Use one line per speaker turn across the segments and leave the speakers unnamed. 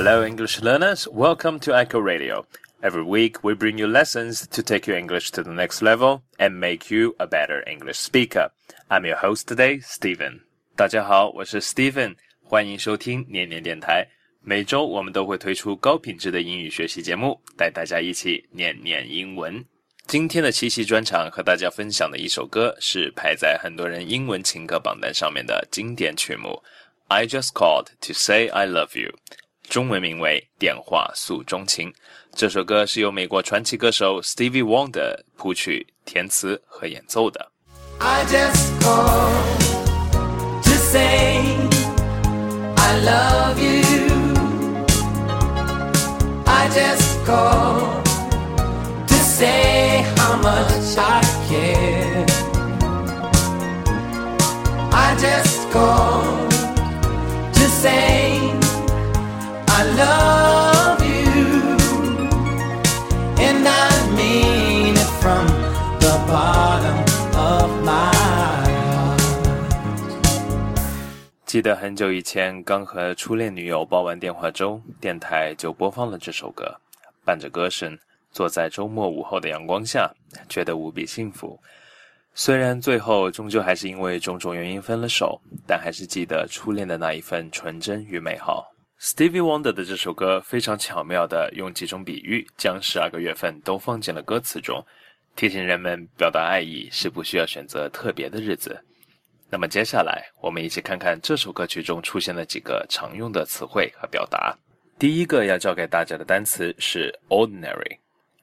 Hello, English learners. Welcome to Echo Radio. Every week, we bring you lessons to take your English to the next level and make you a better English speaker. I'm your host today, Stephen. 大家好，我是 Stephen， 欢迎收听念念电台。每周我们都会推出高品质的英语学习节目，带大家一起念念英文。今天的七夕专场和大家分享的一首歌是排在很多人英文情歌榜单上面的经典曲目 I Just Called to Say I Love You， 中文名为电话诉衷情。这首歌是由美国传奇歌手 Stevie Wonder 谱曲、填词和演奏的。
I just called to say I love you. I just called to say how much I care. I just called to say I love you, and I mean it from the bottom of my heart.
记得很久以前刚和初恋女友煲完电话粥，电台就播放了这首歌，伴着歌声，坐在周末午后的阳光下，觉得无比幸福。虽然最后终究还是因为种种原因分了手，但还是记得初恋的那一份纯真与美好。Stevie Wonder 的这首歌非常巧妙地用几种比喻将12个月份都放进了歌词中，提醒人们表达爱意是不需要选择特别的日子。那么接下来我们一起看看这首歌曲中出现的几个常用的词汇和表达。第一个要教给大家的单词是 ordinary。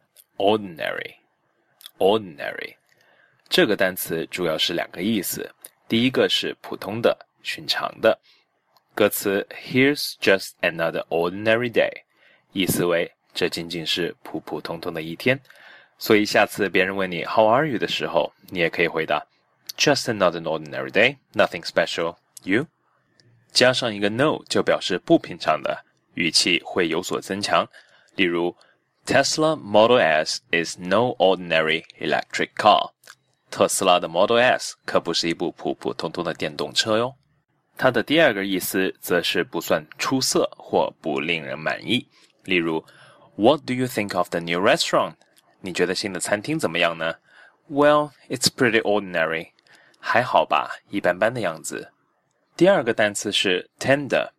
这个单词主要是两个意思，第一个是普通的、寻常的。歌词 Here's just another ordinary day， 意思为这仅仅是普普通通的一天，所以下次别人问你 How are you 的时候，你也可以回答 Just another ordinary day, nothing special. You？ 加上一个 no 就表示不平常的，语气会有所增强。例如 Tesla Model S is no ordinary electric car。 特斯拉的 Model S 可不是一部普普通通的电动车哟。它的第二个意思则是不算出色或不令人满意。例如 What do you think of the new restaurant？ 你觉得新的餐厅怎么样呢？ Well, it's pretty ordinary。 还好吧，一般般的样子。第二个单词是 tender。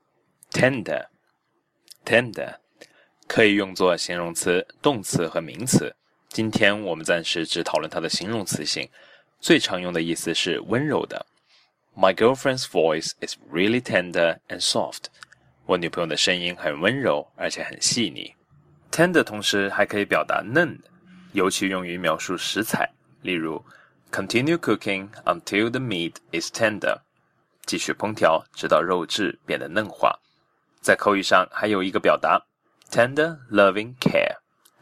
可以用作形容词、动词和名词。今天我们暂时只讨论它的形容词性，最常用的意思是温柔的。My girlfriend's voice is really tender and soft. 我女朋友的声音很温柔，而且很细腻。Tender 同时还可以表达嫩，尤其用于描述食材。例如 Continue cooking until the meat is tender. 继续烹调，直到肉质变得嫩滑。在口语上还有一个表达 Tender loving care.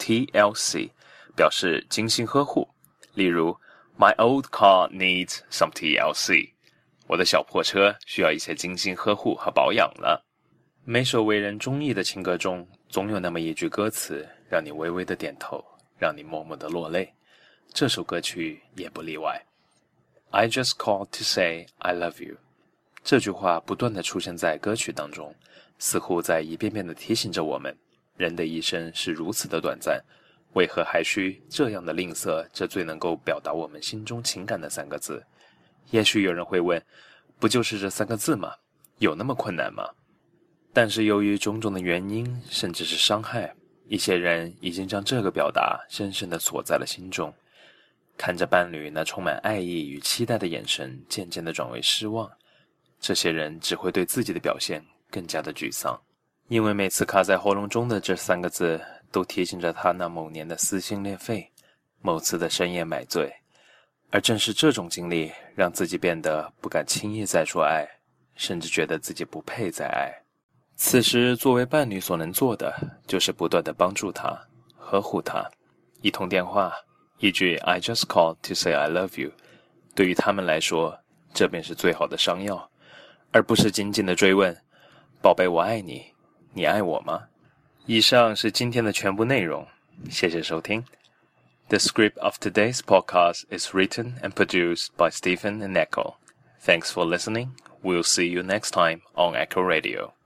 TLC 表示精心呵护。例如 My old car needs some TLC.我的小破车需要一些精心呵护和保养了。每首为人中意的情歌中，总有那么一句歌词，让你微微的点头，让你默默的落泪。这首歌曲也不例外。I just called to say I love you。 这句话不断地出现在歌曲当中，似乎在一遍遍地提醒着我们，人的一生是如此的短暂，为何还需这样的吝啬这最能够表达我们心中情感的三个字？也许有人会问，不就是这三个字吗？有那么困难吗？但是由于种种的原因，甚至是伤害，一些人已经将这个表达深深地锁在了心中。看着伴侣那充满爱意与期待的眼神渐渐地转为失望，这些人只会对自己的表现更加的沮丧，因为每次卡在喉咙中的这三个字都提醒着他那某年的撕心裂肺，某次的深夜买醉。而正是这种经历让自己变得不敢轻易再说爱，甚至觉得自己不配再爱。此时作为伴侣所能做的就是不断地帮助他，呵护他。一通电话，一句 I just called to say I love you， 对于他们来说这便是最好的伤药，而不是紧紧地追问宝贝我爱你，你爱我吗？以上是今天的全部内容，谢谢收听。The script of today's podcast is written and produced by Stephen and Echo. Thanks for listening. We'll see you next time on Echo Radio.